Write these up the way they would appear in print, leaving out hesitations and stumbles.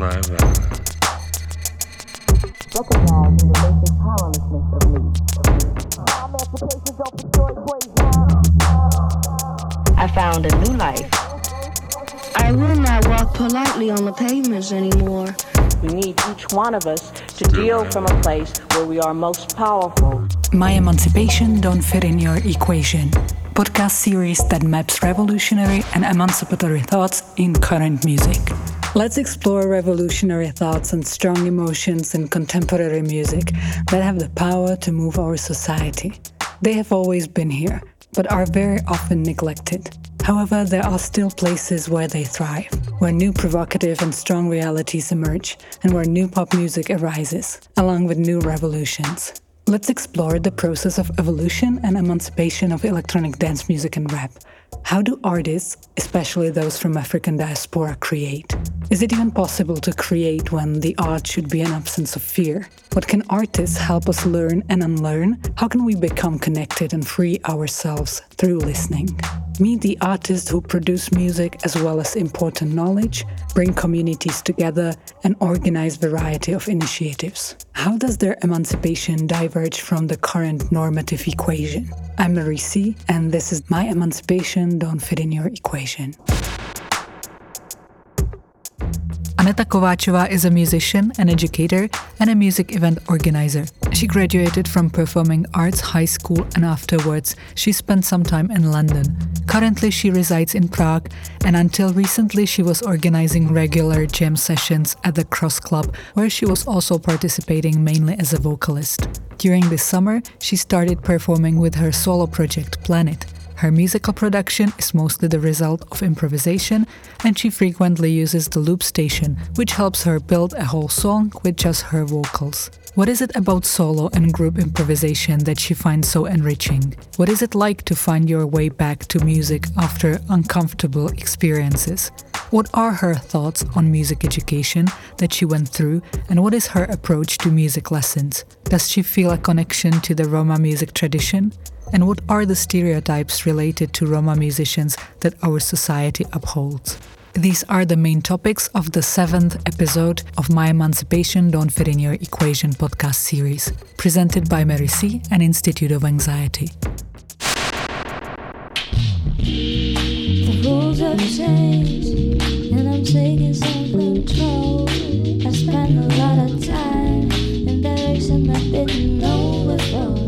alive. Recognizing the basic powerlessness of me. I found a new life. I will not walk politely on the pavements anymore. We need each one of us to deal from a place where we are most powerful. My Emancipation Don't Fit in Your Equation. Podcast series that maps revolutionary and emancipatory thoughts in current music. Let's explore revolutionary thoughts and strong emotions in contemporary music that have the power to move our society. They have always been here, but are very often neglected. However, there are still places where they thrive, where new provocative and strong realities emerge, and where new pop music arises, along with new revolutions. Let's explore the process of evolution and emancipation of electronic dance music and rap. How do artists, especially those from African diaspora, create? Is it even possible to create when the art should be an absence of fear? What can artists help us learn and unlearn? How can we become connected and free ourselves through listening? Meet the artists who produce music as well as important knowledge, bring communities together, and organize variety of initiatives. How does their emancipation diverge from the current normative equation? I'm Marie C, and this is My Emancipation Don't Fit in Your Equation. Aneta Kováčová is a musician, an educator, and a music event organizer. She graduated from Performing Arts High School and afterwards she spent some time in London. Currently she resides in Prague, and until recently she was organizing regular jam sessions at the Cross Club, where she was also participating mainly as a vocalist. During this summer, she started performing with her solo project Planet. Her musical production is mostly the result of improvisation, and she frequently uses the loop station, which helps her build a whole song with just her vocals. What is it about solo and group improvisation that she finds so enriching? What is it like to find your way back to music after uncomfortable experiences? What are her thoughts on music education that she went through, and what is her approach to music lessons? Does she feel a connection to the Roma music tradition? And what are the stereotypes related to Roma musicians that our society upholds? These are the main topics of the 7th episode of My Emancipation Don't Fit in Your Equation podcast series, presented by Mary C. and Institute of Anxiety. The rules have changed, and I'm taking some control. I spend a lot of time in direction I didn't know before.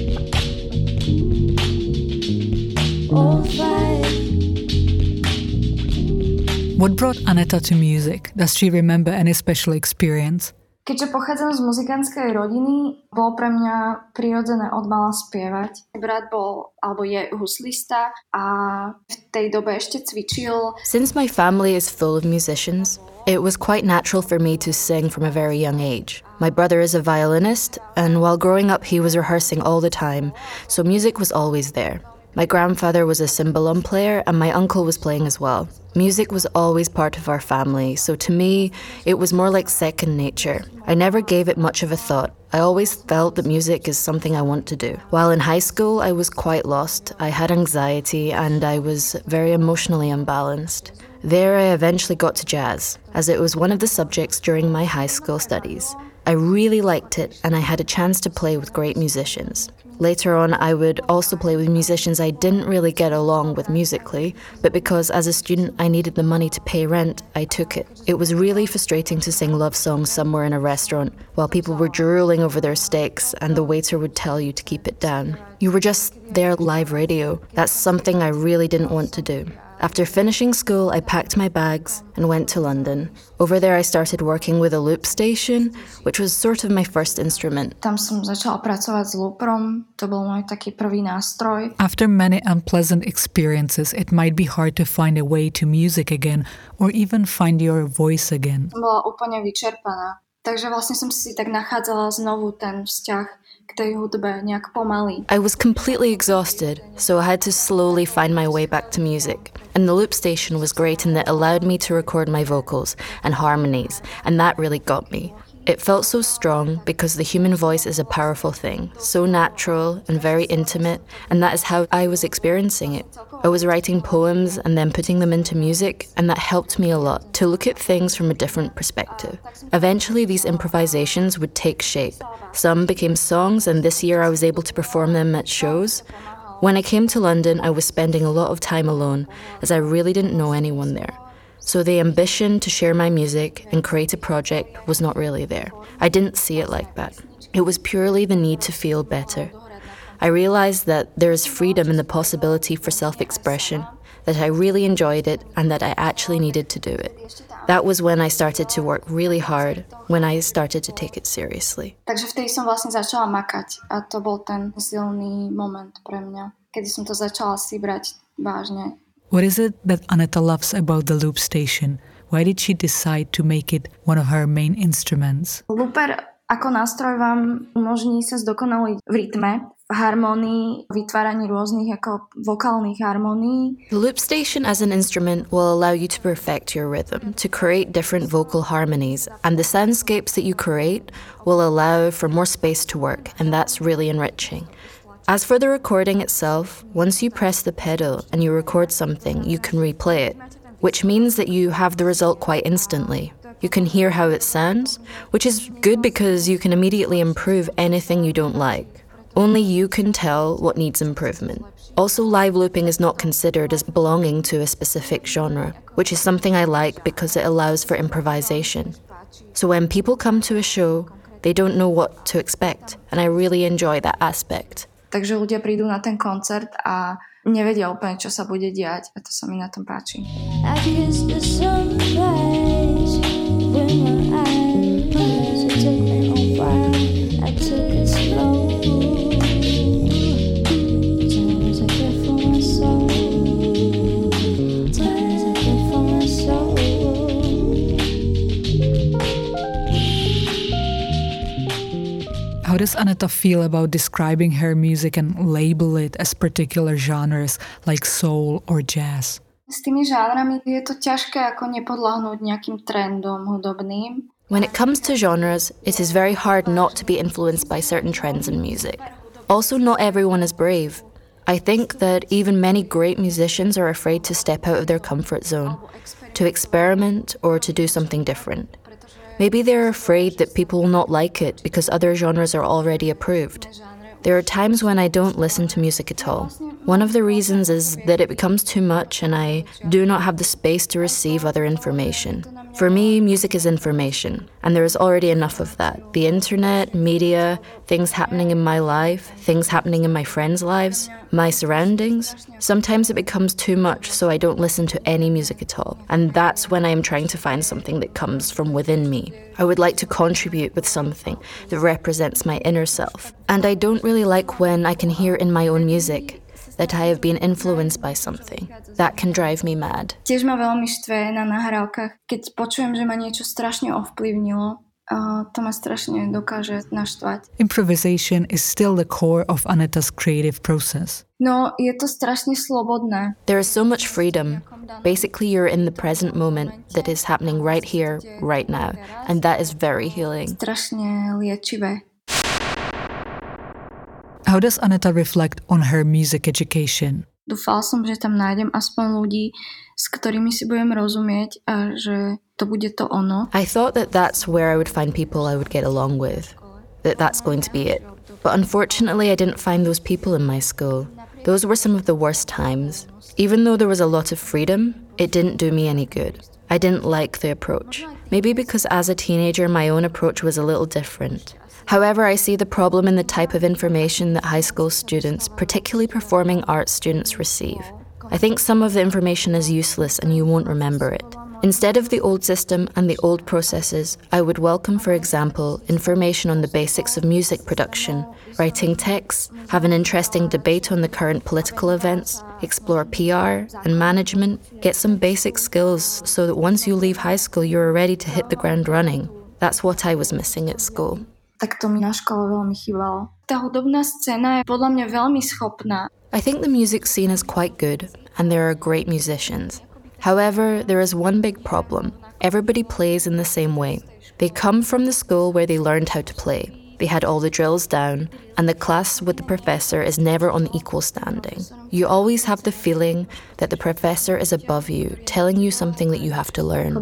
What brought Aneta to music? Does she remember any special experience? Keďže pochádzam z muzikantskej rodiny, bolo pre mňa prirodzené od mala spievať. Brat bol, alebo je huslista a v tej dobe ešte cvičil. Since my family is full of musicians, it was quite natural for me to sing from a very young age. My brother is a violinist, and while growing up he was rehearsing all the time, so music was always there. My grandfather was a cymbalum player and my uncle was playing as well. Music was always part of our family, so to me, it was more like second nature. I never gave it much of a thought. I always felt that music is something I want to do. While in high school, I was quite lost. I had anxiety and I was very emotionally unbalanced. There I eventually got to jazz, as it was one of the subjects during my high school studies. I really liked it and I had a chance to play with great musicians. Later on, I would also play with musicians I didn't really get along with musically, but because as a student I needed the money to pay rent, I took it. It was really frustrating to sing love songs somewhere in a restaurant while people were drooling over their steaks and the waiter would tell you to keep it down. You were just there live radio. That's something I really didn't want to do. After finishing school, I packed my bags and went to London. Over there I started working with a loop station, which was sort of my first instrument. Tam som začala pracovať s looperom, to bol môj taký prvý nástroj. After many unpleasant experiences, it might be hard to find a way to music again, or even find your voice again. Bola úplne vyčerpaná. Takže vlastne som si tak nachádzala znovu ten vzťah k tej hudbe nejak pomaly. I was completely exhausted, so I had to slowly find my way back to music. And the loop station was great in that it allowed me to record my vocals and harmonies, and that really got me. It felt so strong because the human voice is a powerful thing, so natural and very intimate, and that is how I was experiencing it. I was writing poems and then putting them into music, and that helped me a lot to look at things from a different perspective. Eventually, these improvisations would take shape. Some became songs, and this year I was able to perform them at shows. When I came to London, I was spending a lot of time alone, as I really didn't know anyone there. So the ambition to share my music and create a project was not really there. I didn't see it like that. It was purely the need to feel better. I realized that there is freedom in the possibility for self-expression, that I really enjoyed it and that I actually needed to do it. That was when I started to work really hard, when I started to take it seriously. Takže vtedy som vlastne začala makať a to bol ten silný moment pre mňa, kedy som to začala si brať vážne. What is it that Aneta loves about the loop station? Why did she decide to make it one of her main instruments? Looper ako nástroj vám umožní sa zdokonaliť v rytme, v harmonii, vytváraní rôznych ako vokálnych harmonií. The loop station as an instrument will allow you to perfect your rhythm, to create different vocal harmonies, and the soundscapes that you create will allow for more space to work, and that's really enriching. As for the recording itself, once you press the pedal and you record something, you can replay it, which means that you have the result quite instantly. You can hear how it sounds, which is good because you can immediately improve anything you don't like. Only you can tell what needs improvement. Also, live looping is not considered as belonging to a specific genre, which is something I like because it allows for improvisation. So when people come to a show, they don't know what to expect, and I really enjoy that aspect. Takže ľudia prídu na ten koncert a nevedia úplne, čo sa bude diať a to sa mi na tom páči. I kissed the sunrise with my eyes. It took me a while. I took it slow. Time is a gift for my soul. Time is a gift for my soul. How does Aneta feel about describing her music and label it as particular genres like soul or jazz? S tými žánrami je to ťažké ako nepodľahnúť nejakým trendom hudobným. When it comes to genres, it is very hard not to be influenced by certain trends in music. Also, not everyone is brave. I think that even many great musicians are afraid to step out of their comfort zone, to experiment or to do something different. Maybe they're afraid that people will not like it because other genres are already approved. There are times when I don't listen to music at all. One of the reasons is that it becomes too much and I do not have the space to receive other information. For me, music is information, and there is already enough of that. The internet, media, things happening in my life, things happening in my friends' lives, my surroundings. Sometimes it becomes too much, so I don't listen to any music at all. And that's when I am trying to find something that comes from within me. I would like to contribute with something that represents my inner self. And I don't really like when I can hear in my own music that I have been influenced by something. That can drive me mad. Tiež ma veľmi štve na nahrávkach, keď počujem, že ma niečo strašne ovplyvnilo. To ma strašne dokáže naštvať. Improvisation is still the core of Aneta's creative process. No, je to strašne slobodné. There is so much freedom. Basically, you're in the present moment that is happening right here, right now. And that is very healing. Strašne liečivé. How does Aneta reflect on her music education? Dúfala som, že tam nájdem aspoň ľudí, s ktorými si budem rozumieť a že to bude to ono. I thought that that's where I would find people I would get along with, that that's going to be it. But unfortunately, I didn't find those people in my school. Those were some of the worst times. Even though there was a lot of freedom, it didn't do me any good. I didn't like the approach. Maybe because as a teenager, my own approach was a little different. However, I see the problem in the type of information that high school students, particularly performing arts students, receive. I think some of the information is useless and you won't remember it. Instead of the old system and the old processes, I would welcome, for example, information on the basics of music production, writing texts, have an interesting debate on the current political events, explore PR and management, get some basic skills so that once you leave high school, you're ready to hit the ground running. That's what I was missing at school. Tak to mi na škole veľmi chýbalo. Tá hudobná scéna je podľa mňa veľmi schopná. I think the music scene is quite good, and there are great musicians. However, there is one big problem. Everybody plays in the same way. They come from the school where they learned how to play. They had all the drills down, and the class with the professor is never on equal standing. You always have the feeling that the professor is above you, telling you something that you have to learn.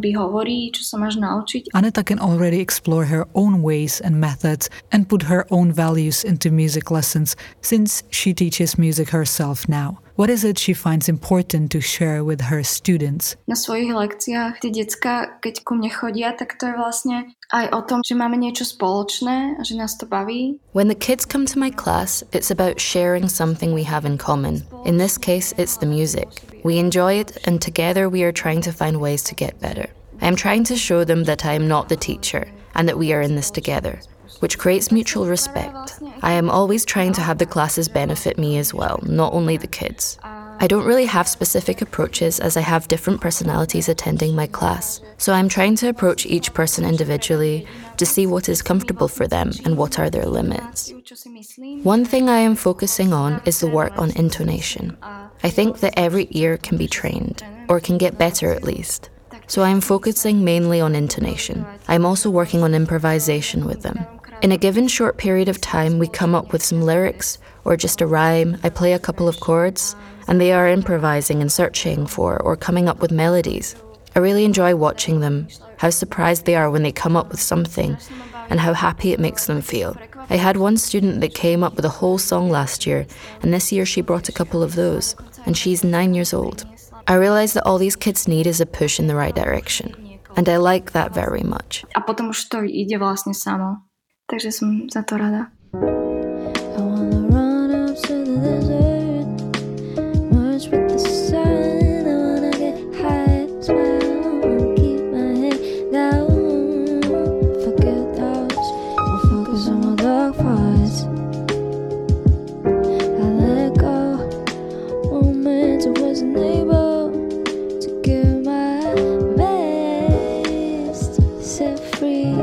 Aneta can already explore her own ways and methods and put her own values into music lessons since she teaches music herself now. What is it she finds important to share with her students? Na svojich lekciách tie decká, keď ku mne chodia, tak to je vlastne aj o tom, že máme niečo spoločné a že nás to baví. When the kids come to my class, it's about sharing something we have in common. In this case, it's the music. We enjoy it, and together we are trying to find ways to get better. I am trying to show them that I am not the teacher and that we are in this together, which creates mutual respect. I am always trying to have the classes benefit me as well, not only the kids. I don't really have specific approaches as I have different personalities attending my class, so I'm trying to approach each person individually to see what is comfortable for them and what are their limits. One thing I am focusing on is the work on intonation. I think that every ear can be trained, or can get better at least. So I am focusing mainly on intonation. I am also working on improvisation with them. In a given short period of time, we come up with some lyrics or just a rhyme. I play a couple of chords, and they are improvising and searching for or coming up with melodies. I really enjoy watching them, how surprised they are when they come up with something, and how happy it makes them feel. I had one student that came up with a whole song last year, and this year she brought a couple of those, and she's 9 years old. I realize that all these kids need is a push in the right direction, and I like that very much. A potom už to ide vlastne samo. Takže som za to rada. I wanna run up to the desert, merge with the sun. I wanna get high, smile, keep my head down, forget doubts, I'll focus on my dark parts. I let go moments I wasn't able to give my best, set free.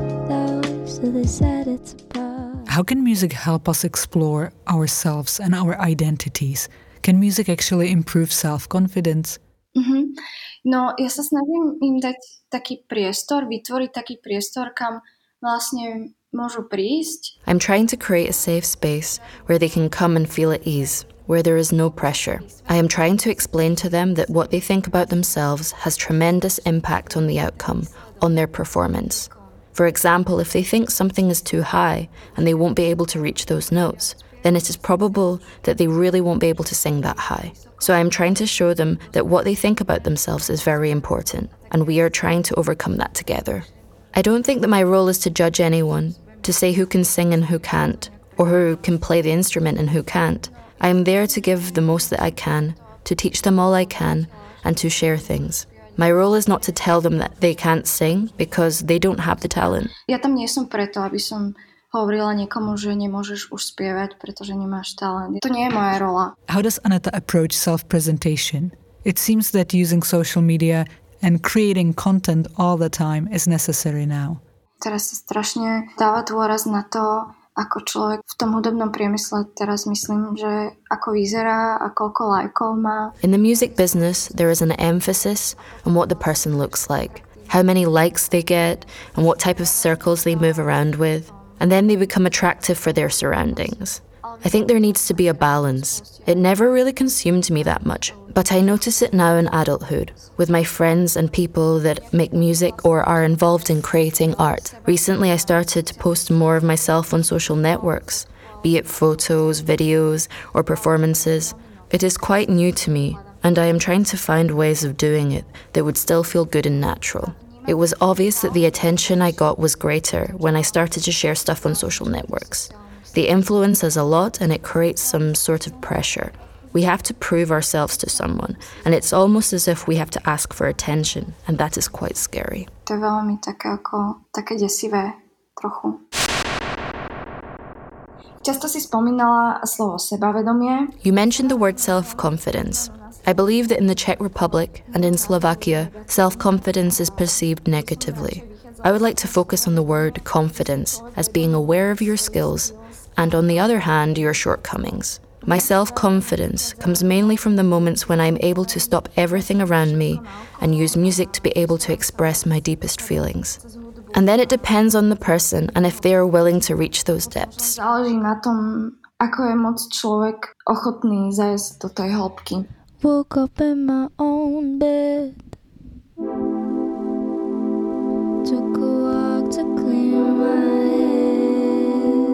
How can music help us explore ourselves and our identities? Can music actually improve self-confidence? No, ja sa snažím im dať taký priestor, vytvoriť taký priestor, kam vlastne môžu prísť. I'm trying to create a safe space where they can come and feel at ease, where there is no pressure. I am trying to explain to them that what they think about themselves has tremendous impact on the outcome, on their performance. For example, if they think something is too high and they won't be able to reach those notes, then it is probable that they really won't be able to sing that high. So I am trying to show them that what they think about themselves is very important, and we are trying to overcome that together. I don't think that my role is to judge anyone, to say who can sing and who can't, or who can play the instrument and who can't. I am there to give the most that I can, to teach them all I can, and to share things. My role is not to tell them that they can't sing because they don't have the talent. Ja tam nie som preto, aby som hovorila niekomu, že nemôžeš už spievať, pretože nemáš talent. To nie je moja rola. How does Aneta approach self-presentation? It seems that using social media and creating content all the time is necessary now. Teraz sa strašne dáva dôraz na to, ako človek v tom hudobnom priemysle teraz myslím, že ako vyzerá a koľko lajkov má. In the music business, there is an emphasis on what the person looks like, how many likes they get, and what type of circles they move around with, and then they become attractive for their surroundings. I think there needs to be a balance. It never really consumed me that much, but I notice it now in adulthood, with my friends and people that make music or are involved in creating art. Recently I started to post more of myself on social networks, be it photos, videos, or performances. It is quite new to me, and I am trying to find ways of doing it that would still feel good and natural. It was obvious that the attention I got was greater when I started to share stuff on social networks. The influence is a lot, and it creates some sort of pressure. We have to prove ourselves to someone, and it's almost as if we have to ask for attention, and that is quite scary. To je veľmi také desivé trochu. Často si spomínala slovo sebavedomie. You mentioned the word self-confidence. I believe that in the Czech Republic and in Slovakia, self-confidence is perceived negatively. I would like to focus on the word confidence as being aware of your skills and, on the other hand, your shortcomings. My self-confidence comes mainly from the moments when I'm able to stop everything around me and use music to be able to express my deepest feelings. And then it depends on the person and if they are willing to reach those depths. Záleží na tom, ako je moc človek ochotný zajsť do tej hĺbky. Woke up in my own bed. Took a walk to clear my head.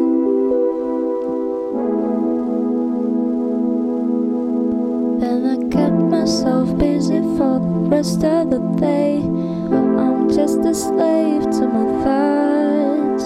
Then I kept myself busy for the rest of the day. I'm just a slave to my thoughts.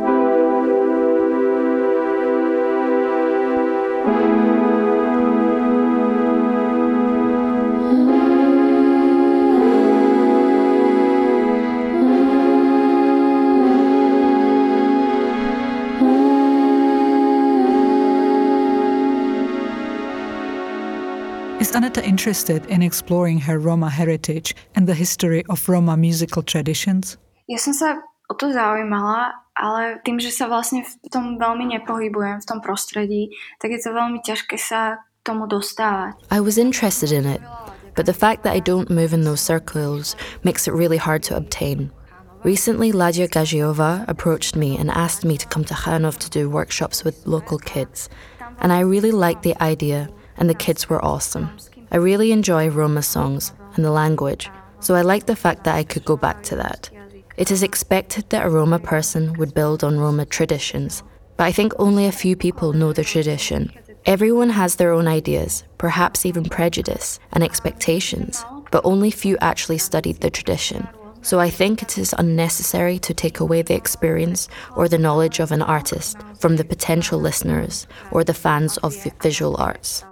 Is Aneta interested in exploring her Roma heritage and the history of Roma musical traditions? Ja som sa o to zaujímala, ale tým, že sa vlastne v tom veľmi nepohybujem, v tom prostredí, tak je to veľmi ťažké sa k tomu dostávať. I was interested in it, but the fact that I don't move in those circles makes it really hard to obtain. Recently, Ladia Gajiova approached me and asked me to come to Chanov to do workshops with local kids, and I really liked the idea, and the kids were awesome. I really enjoy Roma songs and the language, so I like the fact that I could go back to that. It is expected that a Roma person would build on Roma traditions, but I think only a few people know the tradition. Everyone has their own ideas, perhaps even prejudice and expectations, but only few actually studied the tradition. So I think it is unnecessary to take away the experience or the knowledge of an artist from the potential listeners or the fans of visual arts.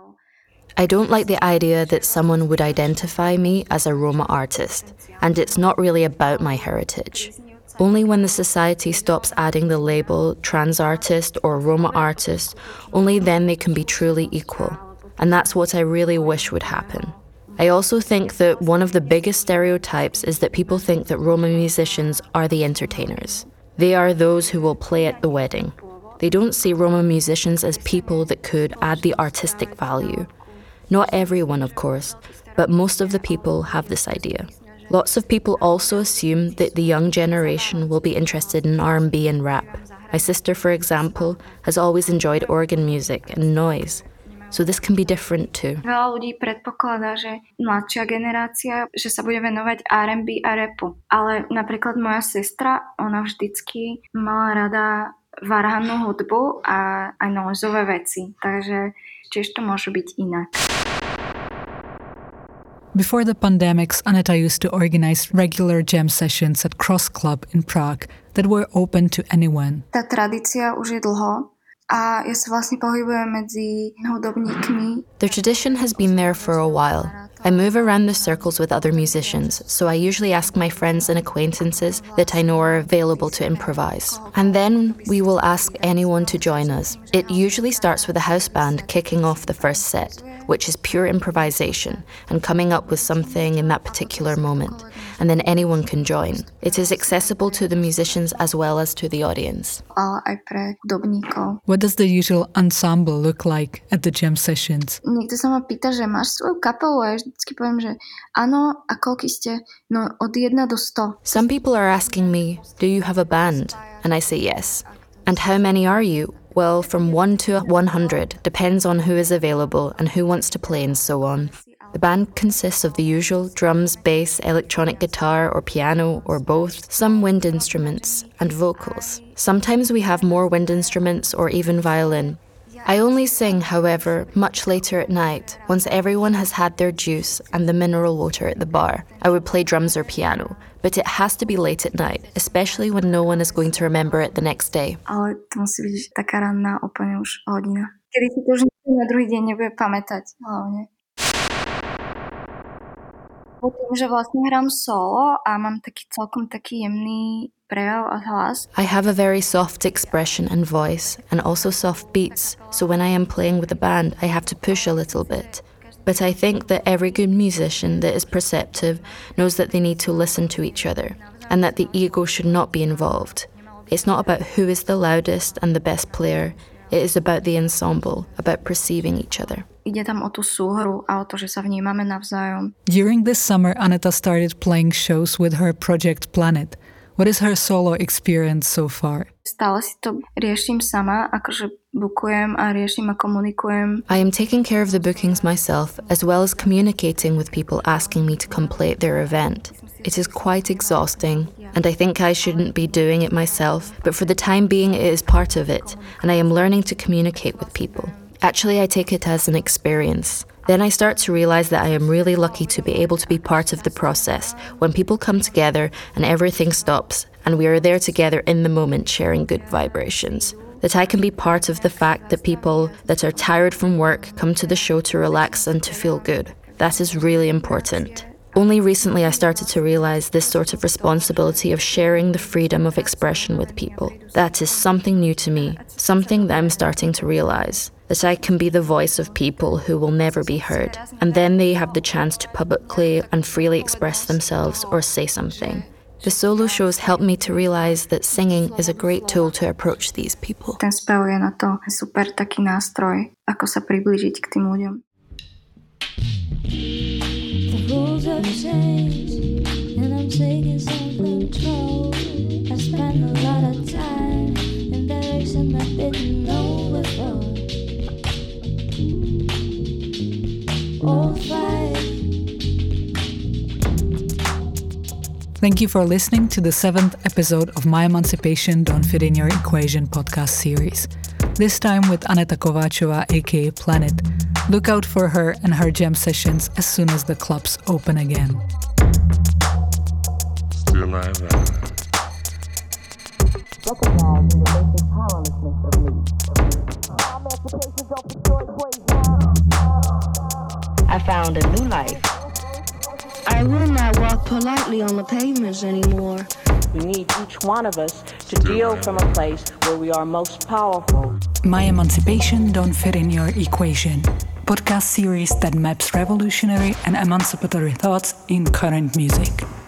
I don't like the idea that someone would identify me as a Roma artist, and it's not really about my heritage. Only when the society stops adding the label trans artist or Roma artist, only then they can be truly equal. And that's what I really wish would happen. I also think that one of the biggest stereotypes is that people think that Roma musicians are the entertainers. They are those who will play at the wedding. They don't see Roma musicians as people that could add the artistic value. Not everyone, of course, but most of the people have this idea. Lots of people also assume that the young generation will be interested in R&B and rap. My sister, for example, has always enjoyed organ music and noise. So this can be different too. Veľa ľudí predpokladá, že mladšia generácia, že sa bude venovať R&B a rapu. Ale napríklad moja sestra, ona vždycky mala rada varhannú hudbu a aj noizové veci. Takže tiež to môže byť inak. Before the pandemics, Aneta used to organize regular jam sessions at Cross Club in Prague that were open to anyone. Tá tradícia už je dlho a ja sa vlastne pohybujem medzi hudobníkmi. The tradition has been there for a while. I move around the circles with other musicians, so I usually ask my friends and acquaintances that I know are available to improvise. And then we will ask anyone to join us. It usually starts with a house band kicking off the first set, which is pure improvisation and coming up with something in that particular moment. And then anyone can join. It is accessible to the musicians as well as to the audience. Ale aj pre hudobníkov. What does the usual ensemble look like at the jam sessions? Niekto sa ma pýta, že máš svoju kapelu a ja vždycky poviem, že áno, a koľky ste? No od 1 do 100. Some people are asking me, do you have a band? And I say yes. And how many are you? Well, from 1 to 100, depends on who is available and who wants to play and so on. The band consists of the usual drums, bass, electronic guitar or piano or both, some wind instruments and vocals. Sometimes we have more wind instruments or even violin. I only sing, however, much later at night, once everyone has had their juice and the mineral water at the bar. I would play drums or piano, but it has to be late at night, especially when no one is going to remember it the next day. Ale to musí byť taká ranná úplne už hodina. Kedy si to už na druhý deň nebude pamätať, hlavne. Po tým, že vlastne hrám solo a mám celkom taký jemný prejav a hlas. I have a very soft expression and voice, and also soft beats, so when I am playing with a band, I have to push a little bit. But I think that every good musician that is perceptive knows that they need to listen to each other, and that the ego should not be involved. It's not about who is the loudest and the best player, it is about the ensemble, about perceiving each other. Ide tam o tú súhru a o to, že sa vnímame navzájom. During this summer, Aneta started playing shows with her project Planet. What is her solo experience so far? Stále si to riešim sama, akože bukujem a riešim a komunikujem. I am taking care of the bookings myself, as well as communicating with people asking me to complete their event. It is quite exhausting, and I think I shouldn't be doing it myself, but for the time being it is part of it, and I am learning to communicate with people. Actually, I take it as an experience. Then I start to realize that I am really lucky to be able to be part of the process, when people come together and everything stops, and we are there together in the moment sharing good vibrations. That I can be part of the fact that people that are tired from work come to the show to relax and to feel good. That is really important. Only recently I started to realize this sort of responsibility of sharing the freedom of expression with people. That is something new to me, something that I'm starting to realize. That I can be the voice of people who will never be heard, and then they have the chance to publicly and freely express themselves or say something. The solo shows helped me to realize that singing is a great tool to approach these people. Ten spev je na to super taký nástroj, ako sa priblížiť k tým ľuďom. The rules have changed, and I'm taking some control. I spend a lot of time in direction I didn't know before. Old fight. Thank you for listening to the 7th episode of My Emancipation Don't Fit in Your Equation podcast series. This time with Aneta Kováčová, aka Planet. Look out for her and her jam sessions as soon as the clubs open again. Still I rise. Recognizing the basic powerlessness of me. I found a new life. I will not walk politely on the pavements anymore. We need each one of us to deal from a place where we are most powerful. My Emancipation Don't Fit in Your Equation. Podcast series that maps revolutionary and emancipatory thoughts in current music.